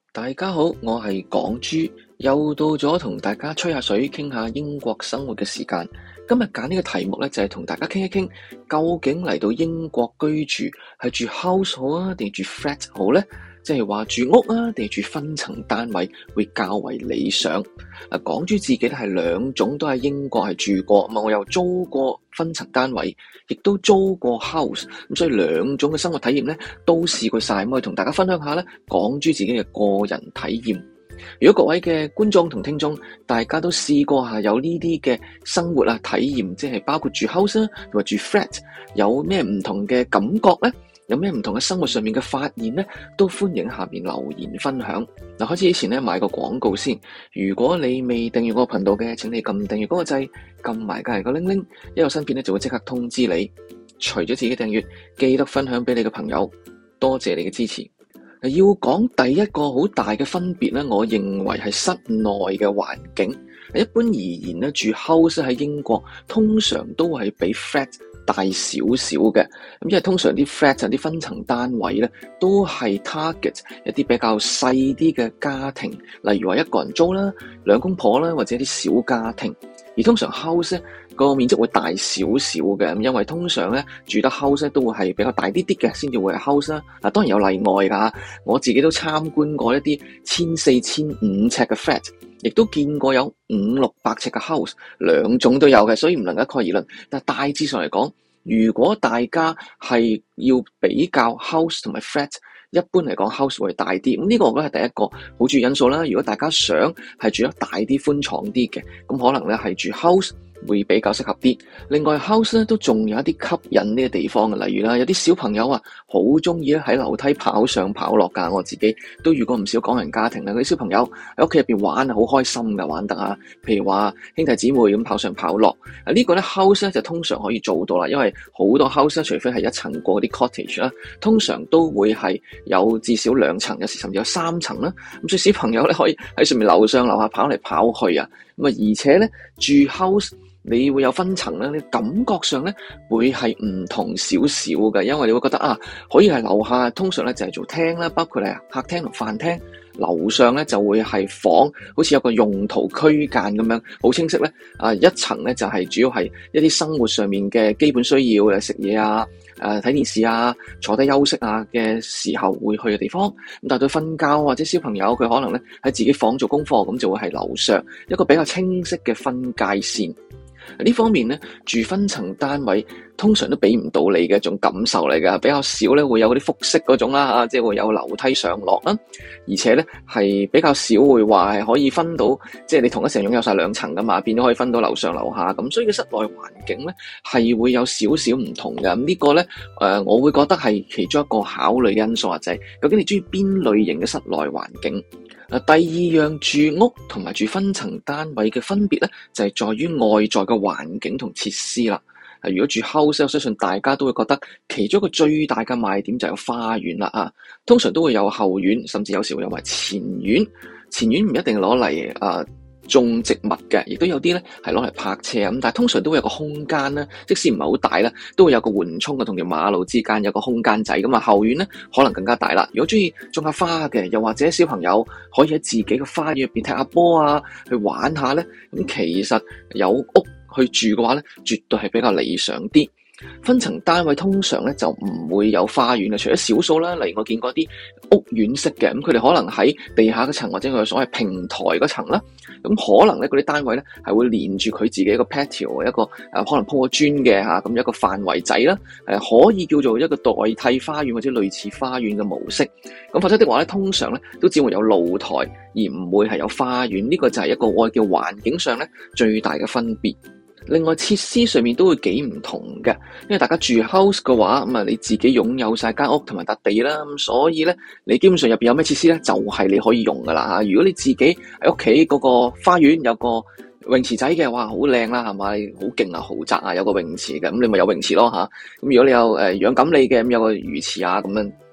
大家好，我係港豬，又到咗同大家吹下水、傾下英國生活嘅時間。今日揀呢個題目咧，就係同大家傾一傾，究竟嚟到英國居住係住 house 好啊，定係住 flat 好呢？即係話住屋啊，定係住分層單位會較為理想。港豬自己咧係兩種都喺英國係住過，我又租過分層單位，亦都租過 house， 咁所以兩種嘅生活體驗咧都試過晒，咁我同大家分享下咧港豬自己嘅個人體驗。如果各位嘅觀眾同聽眾，大家都試過下有呢啲嘅生活啊體驗，即係包括住 house 同埋住 flat， 有咩唔同嘅感覺呢？有咩唔同嘅生活上面嘅發現呢？都歡迎下面留言分享。嗱，開始之前咧買個廣告先。如果你未訂閱我個頻道嘅，請你撳訂閱嗰個掣，撳埋隔籬個鈴鈴，一有新片咧就會即刻通知你。除咗自己訂閱，記得分享俾你嘅朋友。多謝你嘅支持。要講第一個好大嘅分別咧，我認為係室內嘅環境。一般而言咧，住 house 喺英國通常都係比 flat 大少少嘅，咁因為通常啲 flat 啲分層單位咧，都係 target 一啲比較細啲嘅家庭，例如話一個人租啦、兩公婆啦，或者啲小家庭。而通常 house 咧個面積會大少少嘅，咁因為通常咧住得 house 都會係比較大啲啲嘅，先至會係 house 啦。嗱，當然有例外㗎，我自己都參觀過一啲1400、1500尺嘅 flat， 亦都見過有500、600尺嘅 house， 兩種都有嘅，所以唔能夠一概而論。但係大致上嚟講，如果大家係要比較 house 同埋 flat， 一般嚟講 house 會大啲。咁呢個我覺得係第一個好注意因素啦。如果大家想係住得大啲、寬敞啲嘅，咁可能咧係住 house會比較適合啲。另外 house 咧都仲有一啲吸引呢個地方嘅，例如啦，有啲小朋友啊好中意咧喺樓梯跑上跑落㗎。我自己都遇過唔少港人家庭啦，嗰啲小朋友喺屋企入邊玩啊，好開心㗎，玩得啊。譬如話兄弟姊妹咁跑上跑落，呢個咧 house 咧就通常可以做到啦，因為好多 house 咧，除非係一層過啲 cottage 啦，通常都會係有至少2層，有時甚至有3層啦。咁所以小朋友咧可以喺上面樓上樓下跑嚟跑去啊。咁啊，而且咧住 house，你會有分層咧，你感覺上咧會係唔同少少嘅，因為你會覺得啊，可以係樓下通常咧就係做廳啦，包括係客廳同飯廳，樓上咧就會係房，好似有個用途區間咁樣，好清晰咧。一層咧就係主要係一啲生活上面嘅基本需要嘅，食嘢啊、睇電視啊、坐低休息啊嘅時候會去嘅地方。咁但係佢瞓覺或者小朋友佢可能咧喺自己房做功課，咁就會係樓上一個比較清晰嘅分界線。呢方面咧，住分層單位通常都俾唔到你嘅一種感受嚟㗎，比較少咧會有嗰啲複式嗰種啦，即係會有樓梯上落啦，而且咧係比較少會話係可以分到，即係你同一時間擁有晒2層㗎嘛，變咗可以分到樓上樓下咁，所以個室內環境咧係會有少少唔同嘅。咁呢個咧我會覺得係其中一個考慮因素，就係究竟你中意邊類型嘅室內環境。第二樣住屋同埋住分層單位嘅分別咧，就係在於外在嘅環境同設施啦。如果住 house， 我相信大家都會覺得其中一個最大嘅賣點就係有花園啦啊，通常都會有後院，甚至有時會有埋前院。前院唔一定攞嚟種植物嘅，亦都有啲咧係攞嚟泊車咁，但係通常都會有個空間啦，即使唔係好大啦，都會有個緩衝嘅，同條馬路之間有個空間仔咁啊。後院咧可能更加大啦。如果中意種下花嘅，又或者小朋友可以喺自己嘅花園入邊踢下波啊，去玩下咧，咁其實有屋去住嘅話咧，絕對係比較理想啲。分層單位通常咧就唔會有花園嘅，除咗少數啦，例如我見過啲屋苑式嘅，咁佢哋可能喺地下嗰層或者佢所謂平台嗰層啦，咁可能咧嗰啲單位咧係會連住佢自己一個 patio， 一個可能鋪個磚嘅吓，咁一個範圍仔啦，可以叫做一個代替花園或者類似花園嘅模式。咁否則的話咧，通常咧都只會有露台，而唔會係有花園。呢個就係一個我叫環境上咧最大嘅分別。另外設施上面都會幾唔同嘅，因為大家住 house 嘅話，咁你自己擁有晒間屋同埋笪地啦，咁所以咧你基本上入邊有咩設施咧，就係你可以用噶啦吓。如果你自己喺屋企嗰個花園有個泳池仔嘅，哇，好靚啦，係咪？好勁啊，豪宅啊，有個泳池嘅，咁你咪有泳池咯吓。咁如果你有養錦鯉嘅，咁有個魚池啊，咁樣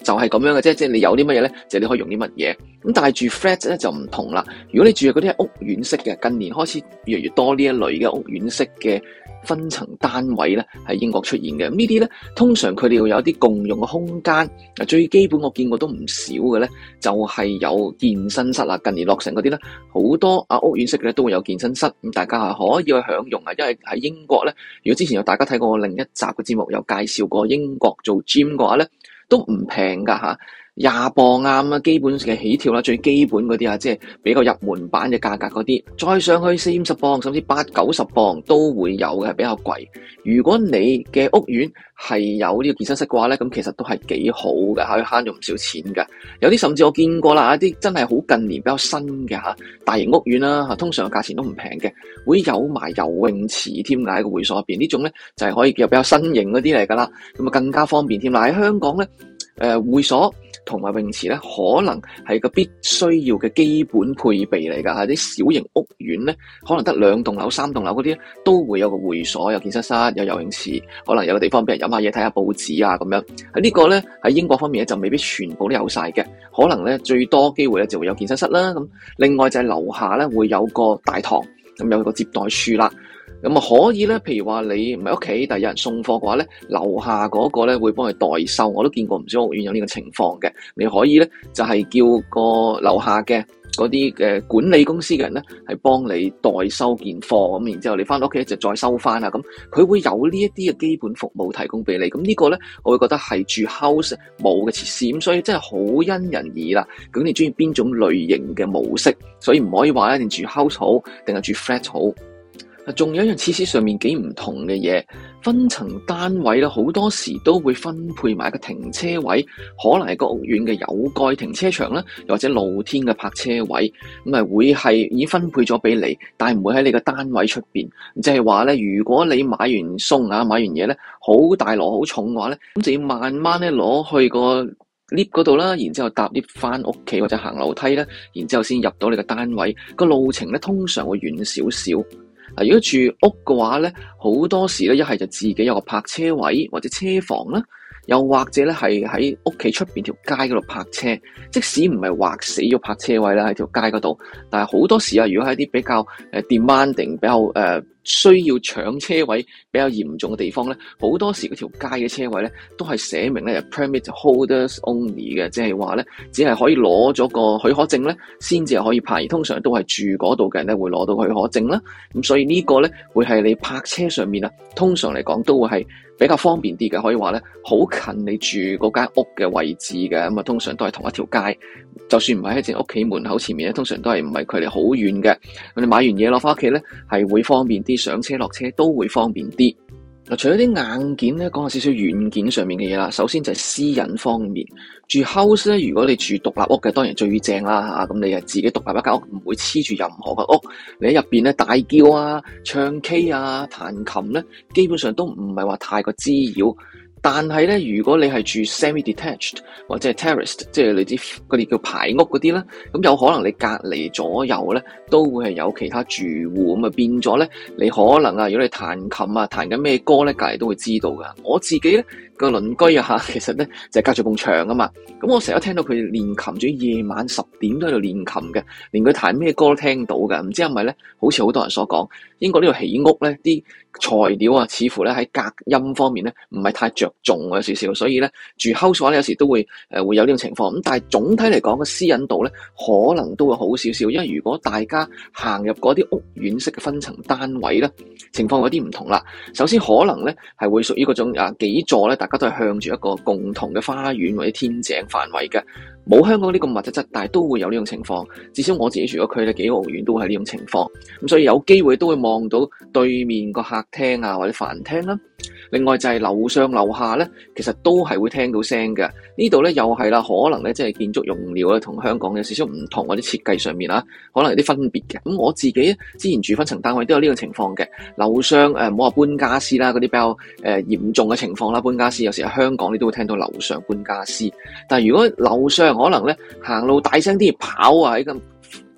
就係咁樣嘅啫，即係你有啲乜嘢咧，就你可以用啲乜嘢。咁但係住 flat 咧就唔同啦。如果你住嗰啲係屋苑式嘅，近年開始越嚟越多呢一類嘅屋苑式嘅分層單位咧喺英國出現嘅。咁呢啲咧通常佢哋會有啲共用嘅空間。最基本我見過都唔少嘅咧，就係有健身室啦。近年落成嗰啲咧，好多屋苑式嘅咧都會有健身室，咁大家係可以去享用啊。因為喺英國咧，如果之前有大家睇過另一集嘅節目，有介紹過英國做 gym 嘅話咧，都唔平㗎嚇，20磅啊，基本嘅起跳啦，最基本嗰啲即係比較入門版嘅價格嗰啲，再上去40-50磅，甚至80-90磅都會有嘅，係比較貴。如果你嘅屋苑係有呢個健身室嘅話咧，咁其實都係幾好嘅，可以慳咗唔少錢㗎。有啲甚至我見過啦，一啲真係好近年比較新嘅大型屋苑啦，通常價錢都唔平嘅，會有埋游泳池添㗎喺個會所入邊。呢種咧就係可以有比較新型嗰啲嚟㗎啦，咁啊更加方便添啦。喺香港咧，會所同埋泳池咧，可能係個必須要嘅基本配備嚟㗎。喺啲小型屋苑咧，可能得2棟樓、3棟樓嗰啲都會有個會所、有健身室、有游泳池，可能有個地方俾人飲下嘢、睇下報紙啊咁樣。喺呢個咧喺英國方面咧就未必全部都有晒嘅，可能咧最多機會咧就會有健身室啦。咁另外就係樓下咧會有個大堂，咁有個接待處啦。咁啊可以咧，譬如話你唔喺屋企，但係有人送貨嘅話咧，樓下嗰個咧會幫你代收。我都見過唔少屋苑有呢個情況嘅。你可以咧就係叫個樓下嘅嗰啲嘅管理公司嘅人咧，係幫你代收件貨，咁然之後你翻到屋企就再收翻啊。咁佢會有呢一啲嘅基本服務提供俾你。咁呢個咧，我會覺得係住 house 冇嘅設施，咁所以真係好因人而異啦。究竟你中意邊種類型嘅模式？所以唔可以話一定住 house 好，定係住 flat 好。仲有一樣設施上面幾唔同嘅嘢，分層單位咧，好多時都會分配埋一個停車位，可能係個屋苑嘅有蓋停車場啦，又或者露天嘅泊車位，咁啊會係已經分配咗俾你，但係唔會喺你個單位出邊。即係話咧，如果你買完餸買完嘢咧，好大籮好重嘅話咧，咁就要慢慢咧攞去個 lift 嗰度啦，然之後搭 lift 翻屋企或者行樓梯啦，然之後先入到你個單位。個路程咧通常會遠少少。如果住屋嘅話咧，好多時咧一係就自己有個泊車位或者車房啦，又或者咧係喺屋企出邊條街嗰度泊車。即使唔係劃死咗泊車位啦喺條街嗰度，但係好多時如果喺啲比較demanding 比較需要搶車位比較嚴重嘅地方咧，好多時嗰條街嘅車位咧都係寫明咧 permit holders only 嘅，即係話咧只係可以攞咗個許可證咧先至係可以泊，而通常都係住嗰度嘅人咧會攞到許可證啦。咁所以呢個咧會係你泊車上面通常嚟講都會係比較方便啲嘅，可以話咧好近你住嗰間屋嘅位置嘅。咁通常都係同一條街，就算唔係喺正屋企門口前面咧，通常都係唔係距離好遠嘅。咁你買完嘢攞翻屋企咧係會方便啲，上車落車都會方便啲。除咗啲硬件咧，講下少少軟件上面嘅嘢啦。首先就係私隱方面，住 house 咧，如果你住獨立屋嘅，當然最正啦嚇。咁你係自己獨立一間屋，唔會黐住任何嘅屋。你喺入邊咧大叫啊、唱 K 啊、彈琴咧，基本上都唔係話太過滋擾。但係咧，如果你係住 semi-detached 或者係 terraced， 即係你知嗰啲叫排屋嗰啲啦，咁有可能你隔離左右咧都會係有其他住戶，咁啊變咗咧，你可能如果你彈琴啊彈緊咩歌咧，隔離都會知道噶。我自己咧個鄰居其實咧就係隔住埲牆啊嘛，咁我成日聽到佢練琴，仲要夜晚10點都喺度練琴嘅，連佢彈咩歌都聽到嘅。唔知係咪咧？好似好多人所講，英國呢度起屋咧啲材料似乎咧喺隔音方面咧唔係太着重有少少，所以咧住 house 話咧有時都會會有呢種情況。咁但係總體嚟講個私隱度咧可能都會好少少，因為如果大家行入嗰啲屋苑式嘅分層單位咧，情況有啲唔同啦。首先可能咧係會屬於嗰種幾座咧，大家都係向住一個共同嘅花園或者天井範圍嘅，冇香港呢個密質質，但係都會有呢種情況。至少我自己住咗區咧，幾個屋苑都係呢種情況。咁所以有機會都會望到對面個客廳或者飯廳啦。另外就係樓上樓下咧，其實都係會聽到聲嘅。呢度咧又係啦，可能咧即係建築用料咧同香港有少少唔同，或者設計上面可能有啲分別嘅。咁我自己之前住分層單位都有呢個情況嘅。樓上唔好話搬家私啦，嗰啲比較嚴重嘅情況啦，搬家私有時喺香港你都會聽到樓上搬家私。但係如果樓上可能咧行路大聲啲跑喺咁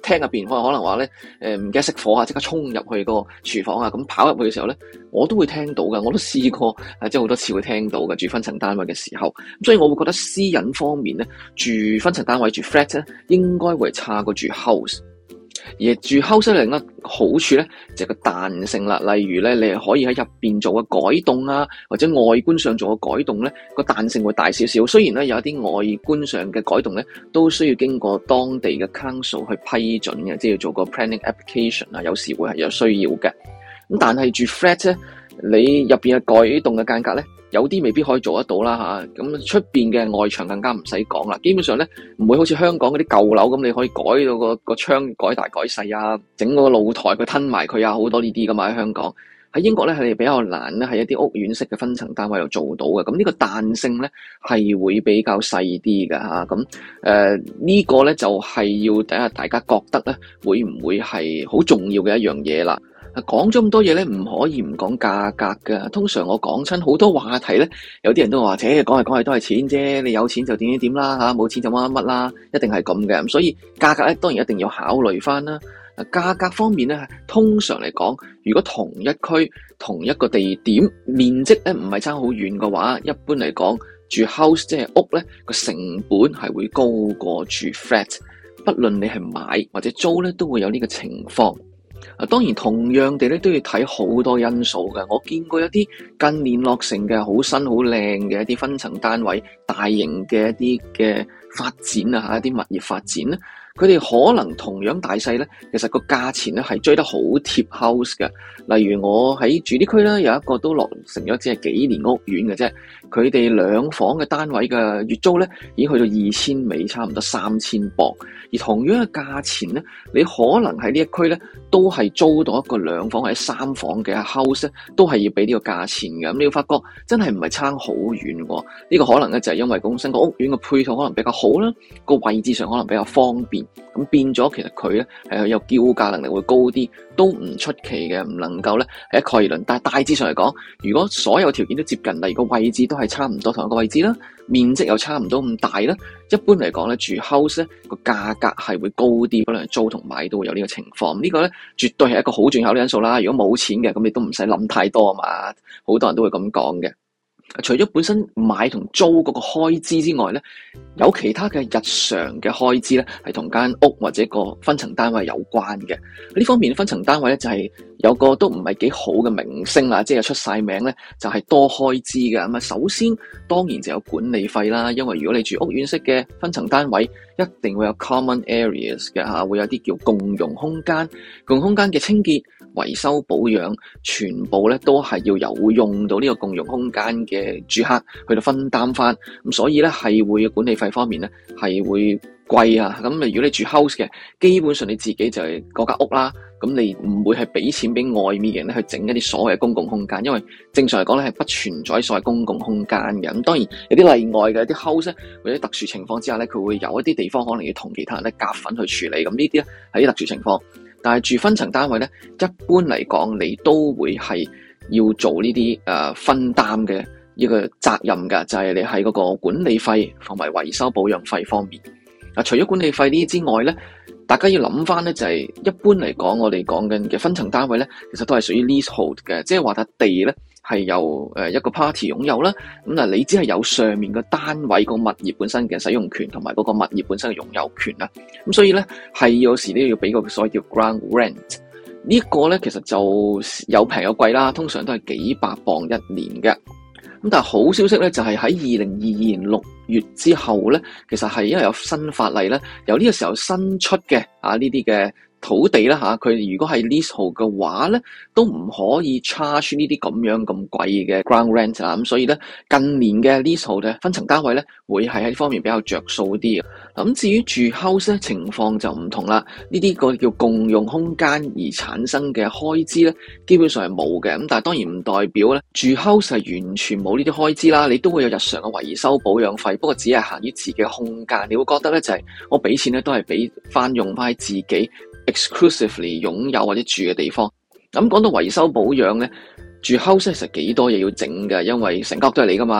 廳入邊，可能話咧唔記得熄火啊，即刻衝入去個廚房啊，咁跑入去嘅時候咧，我都會聽到㗎，我都試過即係好多次會聽到嘅住分層單位嘅時候，咁所以我會覺得私隱方面咧，住分層單位住 flat 咧，應該會差過住 house。而住 house 另一個好處咧，就係個彈性啦。例如咧，你係可以喺入邊做個改動啊，或者外觀上做個改動咧，個彈性會大少少。雖然咧有一啲外觀上嘅改動咧，都需要經過當地嘅 council 去批准嘅，即係要做個 planning application 啊，有時會係有需要嘅。咁但係住 flat 咧，你入邊嘅改動嘅間隔咧，有啲未必可以做得到啦吓，咁出邊嘅外牆更加唔使講啦。基本上咧，唔會好似香港嗰啲舊樓咁，你可以改到個窗改大改細啊，整個露台佢吞埋佢啊，好多呢啲噶嘛喺香港。喺英國咧係比較難咧，喺一啲屋苑式嘅分層單位度做到嘅。咁呢個彈性咧係會比較細啲嘅吓。咁呢個咧就係要睇下大家覺得咧會唔會係好重要嘅一樣嘢啦。講咗咁多嘢咧，唔可以唔講價格㗎。通常我講親好多話題咧，有啲人都話，講嚟講去都係錢啫。你有錢就點點點啦嚇，冇錢就乜乜乜啦，一定係咁嘅。咁所以價格咧當然一定要考慮翻啦。價格方面咧，通常嚟講，如果同一區同一個地點面積咧唔係差好遠嘅話，一般嚟講住 house 即係屋咧個成本係會高過住 flat。不論你係買或者租咧，都會有呢個情況。當然同樣地咧都要睇好多因素嘅。我見過一啲近年落成嘅好新好靚嘅一啲分層單位，大型嘅一啲嘅發展啊，一啲物業發展咧，佢哋可能同樣大細咧，其實個價錢咧係追得好貼 house 嘅。例如我喺住啲區咧，有一個都落成咗只係幾年屋苑嘅啫，佢哋2房嘅單位嘅月租咧已經去到2000尾，差唔多3000磅。而同樣嘅價錢咧，你可能喺呢一區咧都係租到一個2房或者3房嘅 house 咧，都係要俾呢個價錢嘅。咁你要發覺真係唔係差好遠喎。呢個可能咧就係因為本身個屋苑嘅配套可能比較好啦，個位置上可能比較方便，咁變咗其實佢咧係有叫價能力會高啲，都唔出奇嘅，唔能夠咧係一概而論。但係大致上嚟講，如果所有條件都接近，例如個位置都係差唔多同一個位置啦，面積又差唔多咁大啦，一般嚟講咧住 house 咧個價格係會高啲，可能租同買都會有呢個情況。呢個咧絕對係一個好重要嘅因素啦。如果冇錢嘅，咁你都唔使諗太多啊嘛，好多人都會咁講嘅。除咗本身買同租嗰個開支之外咧，有其他嘅日常嘅開支咧，係同間屋或者個分層單位有關嘅。呢方面分層單位咧就係有個都唔係幾好嘅名聲啦，即係出晒名咧，就係多開支嘅。咁啊，首先當然就有管理費啦，因為如果你住屋苑式嘅分層單位，一定會有 common areas 嘅嚇，會有啲叫共用空間，共用空間嘅清潔、維修、保養，全部咧都係要有用到呢個共用空間嘅住客去到分擔翻。咁所以咧係會管理費方面咧係會貴啊。咁如果你住 house 嘅，基本上你自己就係嗰間屋啦，咁你唔會係俾錢俾外面嘅人咧去整一啲所謂嘅公共空間，因為正常嚟講咧係不存在所謂公共空間嘅。咁當然有啲例外嘅，啲 house 或者特殊情況之下咧，佢會有一啲地方可能要同其他人咧夾份去處理。咁呢啲咧係啲特殊情況，但係住分層單位咧，一般嚟講你都會係要做呢啲分擔嘅一個責任㗎，就係你喺嗰個管理費同埋維修保養費方面。除咗管理費呢啲之外咧，大家要諗翻咧，就係一般嚟講，我哋講緊嘅分層單位咧，其實都係屬於 leasehold 嘅，即係話笪地咧係由一個 party 擁有啦。咁嗱，你只係有上面個單位個物業本身嘅使用權同埋嗰個物業本身嘅擁有權啦。咁所以咧係有時都要俾個所謂叫 ground rent。呢個咧其實就有平有貴啦，通常都係幾百磅一年嘅。咁但係好消息咧，就係喺2022年6月之後咧，其實係因為有新法例咧，由呢個時候新出嘅呢啲嘅土地啦嚇，佢如果係 leasehold 嘅話咧，都唔可以 charge 呢啲咁樣咁貴嘅 ground rent 啦。咁所以咧，近年嘅 leasehold 嘅分層單位咧，會係喺呢方面比較着數啲嘅。咁至於住 house 咧，情況就唔同啦。呢啲個叫共用空間而產生嘅開支咧，基本上係冇嘅。咁但係當然唔代表咧，住 house 係完全冇呢啲開支啦。你都會有日常嘅維修保養費，不過只係限於自己嘅空間。你會覺得咧就係我俾錢咧都係俾翻用翻喺自己 exclusively 擁有或者住嘅地方。咁講到維修保養咧，住 house 其實幾多嘢要整㗎，因為成間屋都係你噶嘛。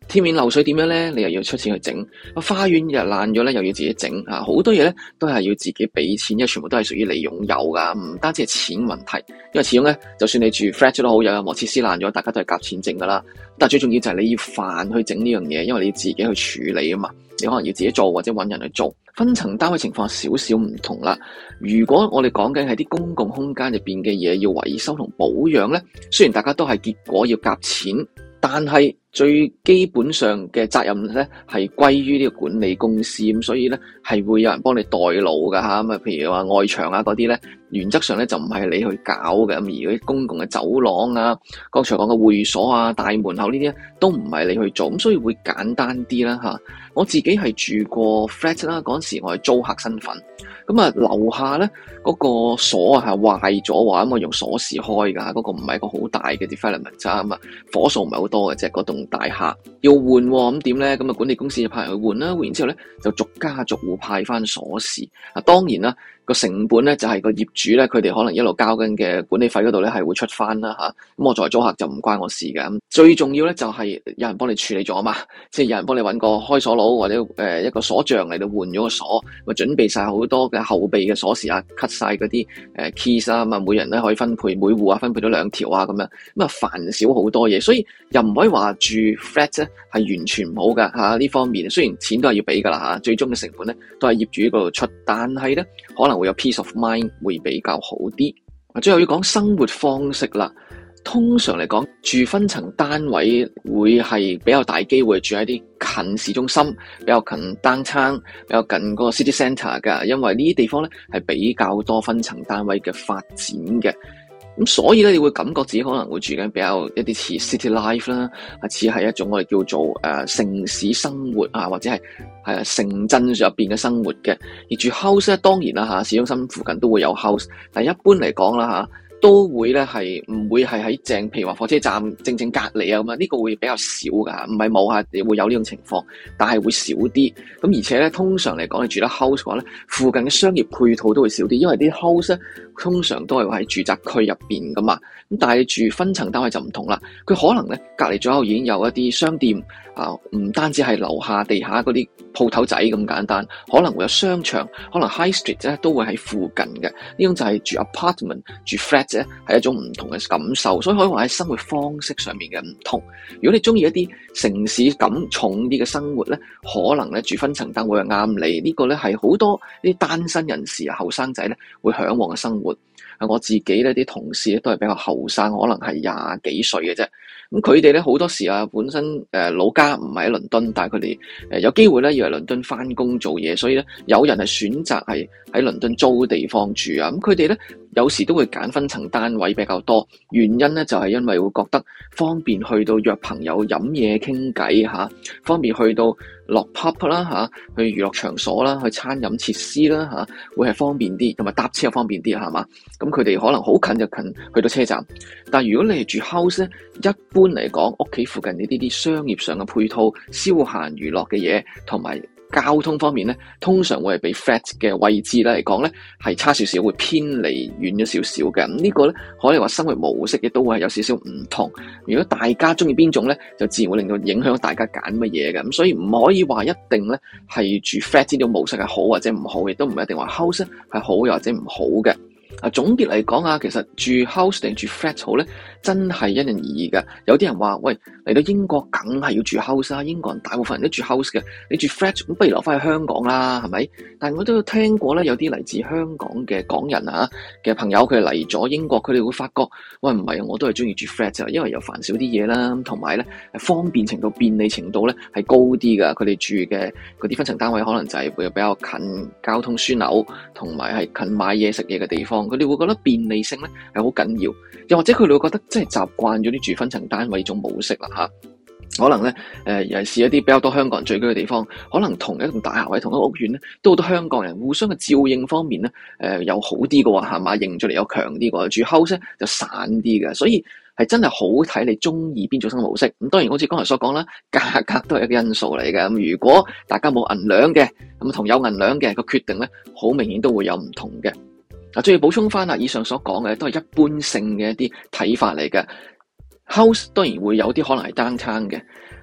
天面漏水點樣咧？你又要出錢去整。花園又爛咗咧，又要自己整啊！好多嘢咧都係要自己俾錢，因為全部都係屬於你擁有噶，唔單止係錢問題。因為始終咧，就算你住 flat 都好，有任何設施爛咗，大家都係夾錢整噶啦。但係最重要就係你要飯去整呢樣嘢，因為你要自己去處理啊嘛。你可能要自己做或者揾人去做。分層單位情況少少唔同啦。如果我哋講緊係啲公共空間入邊嘅嘢要維修同保養咧，雖然大家都係結果要夾錢，但係最基本上嘅責任咧係歸於呢個管理公司，咁所以咧係會有人幫你代勞噶吓，咁啊譬如話外牆啊嗰啲咧，原則上咧就唔係你去搞嘅，咁而嗰啲公共嘅走廊啊，剛才講嘅會所啊、大門口呢啲都唔係你去做，咁所以會簡單啲啦吓。我自己係住過 flat 啦，嗰陣時我係租客身份，咁啊樓下咧嗰個鎖啊係壞咗話，咁我用鎖匙開噶，嗰個唔係一個好大嘅 development 咋，咁啊火數唔係好多嘅啫，嗰棟大廈要換喎，咁點咧？咁啊管理公司就派人去換啦，換完之後咧就逐家逐戶派翻鎖匙。啊當然啦，個成本咧就係個業主咧，佢哋可能一路交緊嘅管理費嗰度咧係會出翻啦吓。咁我作為租客就唔關我事嘅。咁最重要咧就係有人幫你處理咗啊嘛，即係有人幫你揾個開鎖佬或者一個鎖匠嚟到換咗個鎖，咪準備晒好多嘅後備嘅鎖匙啊 ，cut 晒嗰啲keys 啊，咁啊每人咧可以分配每戶啊分配到2條啊咁樣，咁啊煩少好多嘢，所以又唔可以話住 flat 咧係完全唔好噶吓呢方面。雖然錢都係要俾噶啦吓，最終嘅成本咧都係業主嗰度出，但係咧可能會有 peace of mind 會比較好啲。最後要講生活方式啦。通常嚟講，住分層單位會係比較大機會住喺啲近市中心，比較近 downtown，比較近嗰個 city centre 㗎，因為呢啲地方咧係比較多分層單位嘅發展嘅。咁所以咧，你會感覺自己可能會住緊比較一啲似 city life 啦，似係一種我哋叫做城市生活啊，或者係城鎮入邊嘅生活嘅。而住 house 咧，當然啦嚇，市中心附近都會有 house，但係一般嚟講啦嚇，都會咧係唔會係喺正，譬如話火車站正隔離啊咁啊，呢個會比較少㗎，唔係冇嚇，你會有呢種情況，但係會少啲。咁而且咧，通常嚟講，你住得 house 嘅話咧，附近嘅商業配套都會少啲，因為啲 house 咧通常都係喺住宅區入邊噶嘛。咁但係你住分層單位就唔同啦，佢可能咧隔離左右已經有一啲商店啊，唔單止係樓下地下嗰啲鋪頭仔咁簡單，可能會有商場，可能 high street 咧都會喺附近嘅。呢種就係住 apartment 住 flat 咧係一種唔同嘅感受，所以可以話喺生活方式上面嘅唔同。如果你中意一啲城市感重啲嘅生活咧，可能咧住分層單位係啱你。呢個咧係好多啲單身人士啊、後生仔咧會嚮往嘅生活。我自己咧啲同事咧都係比較後生，可能係20幾歲嘅啫。咁佢哋咧好多時啊，本身老家唔係喺倫敦，但係佢哋有機會咧要喺倫敦翻工做嘢，所以咧有人係選擇係喺倫敦租地方住啊。咁佢哋咧有時都會揀分層單位比較多，原因咧就係因為會覺得方便去到約朋友飲嘢傾偈嚇，方便去到落 pub 啦嚇，去娛樂場所啦，去餐飲設施啦嚇，會係方便啲，同埋搭車又方便啲係嘛？咁佢哋可能好近就近去到車站，但係如果你係住 house 咧，一般嚟講屋企附近呢啲商業上嘅配套、消閒娛樂嘅嘢同埋交通方面咧，通常會係比 flat 嘅位置咧嚟講咧係差少少，會偏離遠咗少少嘅。咁呢個咧可以話生活模式亦都會係有少少唔同。如果大家中意邊種咧，就自然會令到影響大家揀乜嘢嘅。咁所以唔可以話一定咧係住 flat 呢種模式係好或者唔好，亦都唔一定話 house 係好又或者唔好嘅。總結嚟講啊，其實住 house 定住 flat 好咧，真係因人而異嘅。有啲人話：喂，嚟到英國梗係要住 house 啦，英國人大部分人都住 house 嘅，你住 flat 咁不如留翻去香港啦，係咪？但係我都有聽過咧，有啲嚟自香港嘅港人啊嘅朋友，佢嚟咗英國，佢哋會發覺：喂，唔係，我都係中意住 flat 啫，因為又煩少啲嘢啦，同埋咧方便程度、便利程度咧係高啲㗎。佢哋住嘅嗰啲分層單位可能就係會比較近交通樞紐，同埋係近買嘢食嘢嘅地方。佢哋會覺得便利性咧係好緊要，又或者佢哋會覺得真係習慣咗啲住分層單位呢種模式啦嚇。可能咧尤其是一啲比較多香港人聚居嘅地方，可能同一棟大廈或者同一個屋苑咧，都好多香港人互相嘅照應方面咧又好啲嘅喎，係嘛？凝聚力又強啲嘅，住 house 咧就散啲嘅，所以係真係好睇你中意邊種生活模式。咁當然好似剛才所講啦，價格都係一個因素嚟嘅。咁如果大家冇銀兩嘅，咁同有銀兩嘅個決定咧，好明顯都會有唔同嘅。再要補充翻啦，以上所講嘅都係一般性嘅一啲睇法嚟嘅。House 當然會有啲可能係 downtown 嘅，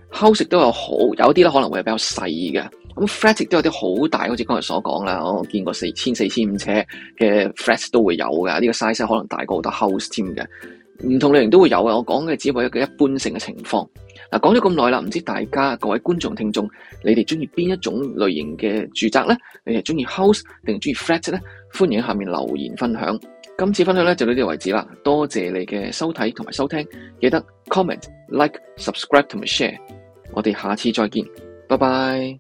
house 都有啲咧可能會係比較細嘅，咁 flat 亦都有啲好大，好似剛才所講啦，我見過4000-4500尺嘅 flat 都會有嘅，呢個 size 可能大過好多 house 添嘅，唔同類型都會有嘅。我講嘅只係一個一般性嘅情況。嗱，講咗咁耐啦，唔知大家各位觀眾聽眾，你哋中意邊一種類型嘅住宅咧？你係中意 house 定係中意 flat 咧？歡迎喺下面留言分享。今次分享咧就到呢度為止啦，多謝你嘅收睇同埋收聽，記得 comment、like、subscribe 同埋 share。我哋下次再見，拜拜。